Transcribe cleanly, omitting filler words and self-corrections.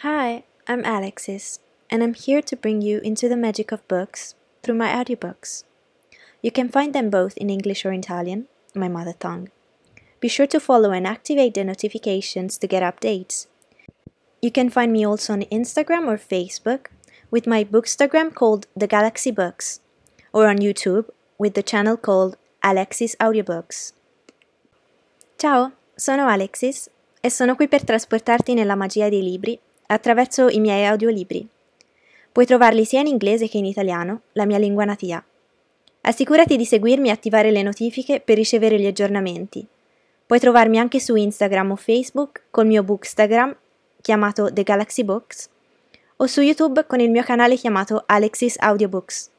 Hi, I'm Alexis, and I'm here to bring you into the magic of books through my audiobooks. You can find them both in English or Italian, my mother tongue. Be sure to follow and activate the notifications to get updates. You can find me also on Instagram or Facebook with my bookstagram called The Galaxy Books, or on YouTube with the channel called Alexis Audiobooks. Ciao, sono Alexis e sono qui per trasportarti nella magia dei libri attraverso i miei audiolibri. Puoi trovarli sia in inglese che in italiano, la mia lingua natia. Assicurati di seguirmi e attivare le notifiche per ricevere gli aggiornamenti. Puoi trovarmi anche su Instagram o Facebook col mio bookstagram chiamato The Galaxy Books o su YouTube con il mio canale chiamato Alexis Audiobooks.